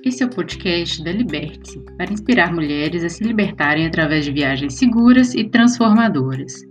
Esse é o podcast da Liberte-se, para inspirar mulheres a se libertarem através de viagens seguras e transformadoras.